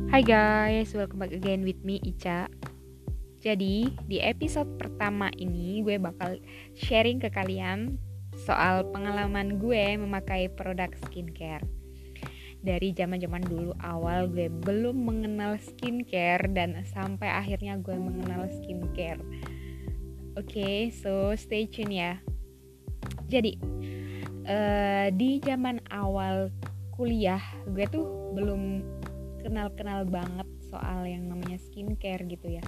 Hai guys, welcome back again with me Ica. Jadi di episode pertama ini gue bakal sharing ke kalian soal pengalaman gue memakai produk skincare. Dari zaman-zaman dulu awal gue belum mengenal skincare dan sampai akhirnya gue mengenal skincare. Oke, so stay tune ya. Jadi di zaman awal kuliah gue tuh belum kenal banget soal yang namanya skincare gitu ya.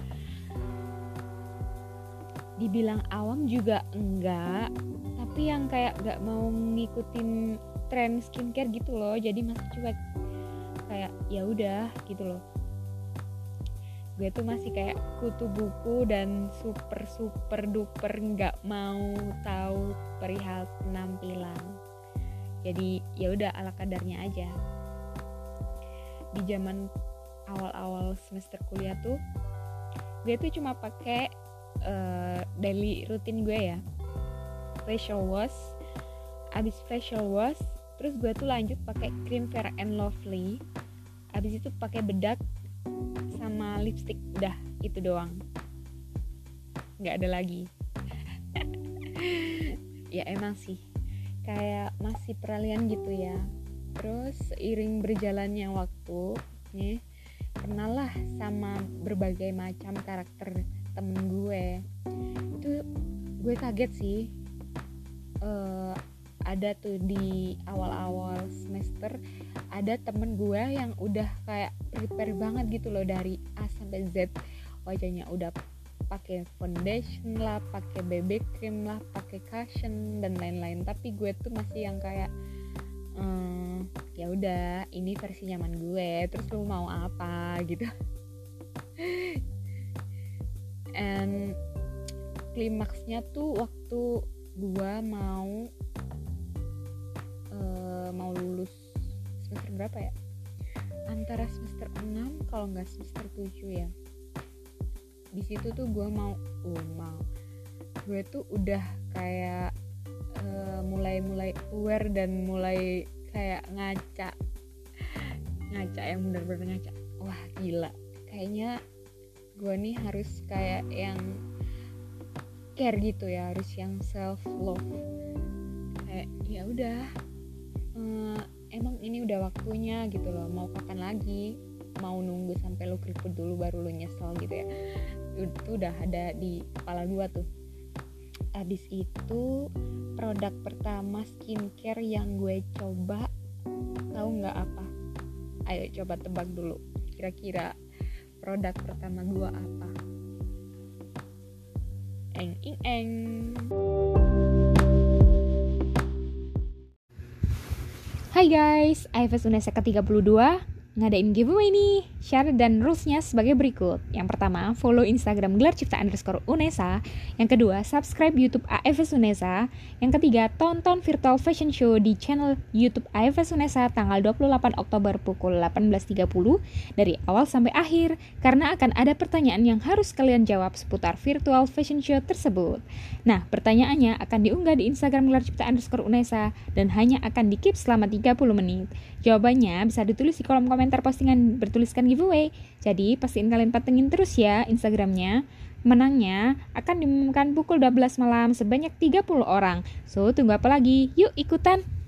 Dibilang awam juga enggak, tapi yang kayak gak mau ngikutin tren skincare gitu loh. Jadi masih cuek, kayak ya udah gitu loh. Gue tuh masih kayak kutu buku dan super duper nggak mau tahu perihal penampilan. Jadi ya udah ala kadarnya aja. Di zaman awal-awal semester kuliah tuh gue tuh cuma pakai daily rutin gue ya, facial wash. Abis facial wash terus gue tuh lanjut pakai krim Fair and Lovely. Abis itu pakai bedak sama lipstick, udah itu doang, nggak ada lagi. Ya emang sih kayak masih peralihan gitu ya. Terus seiring berjalannya waktu nih, kenalah sama berbagai macam karakter temen gue. Itu gue kaget sih. Ada tuh di awal-awal semester ada temen gue yang udah kayak prepare banget gitu loh, dari A sampai Z. Wajahnya udah pakai foundation lah, pakai BB cream lah, pakai cushion dan lain-lain. Tapi gue tuh masih yang kayak ya udah, ini versi nyaman gue, terus lu mau apa gitu. And klimaksnya tuh waktu gue mau lulus semester berapa ya, antara semester 6 kalau nggak semester 7 ya. Di situ tuh gue gue tuh udah kayak mulai aware dan mulai kayak ngaca yang bener-bener ngaca. Wah gila, kayaknya gue nih harus kayak yang care gitu ya, harus yang self love. Kayak ya udah, emang ini udah waktunya gitu loh. Mau kapan lagi? Mau nunggu sampai lu keriput dulu baru lu nyesel gitu ya? Itu udah ada di kepala gue tuh. Abis itu produk pertama skincare yang gue coba, tahu nggak apa? Ayo coba tebak dulu, kira-kira produk pertama gue apa? Eng. Hai guys, IFS Unesa ke-32 ngadain giveaway nih. Syarat dan rules-nya sebagai berikut. Yang pertama, follow Instagram _Unesa. Yang kedua, subscribe YouTube AFS Unesa. Yang ketiga, tonton virtual fashion show di channel YouTube AFS Unesa tanggal 28 Oktober pukul 18.30 dari awal sampai akhir, karena akan ada pertanyaan yang harus kalian jawab seputar virtual fashion show tersebut. Nah, pertanyaannya akan diunggah di Instagram _Unesa dan hanya akan di-keep selama 30 menit. Jawabannya bisa ditulis di kolom komentar postingan bertuliskan giveaway. Jadi pastiin kalian patengin terus ya Instagramnya. Menangnya akan diumumkan pukul 12 malam sebanyak 30 orang. So tunggu apa lagi? Yuk ikutan!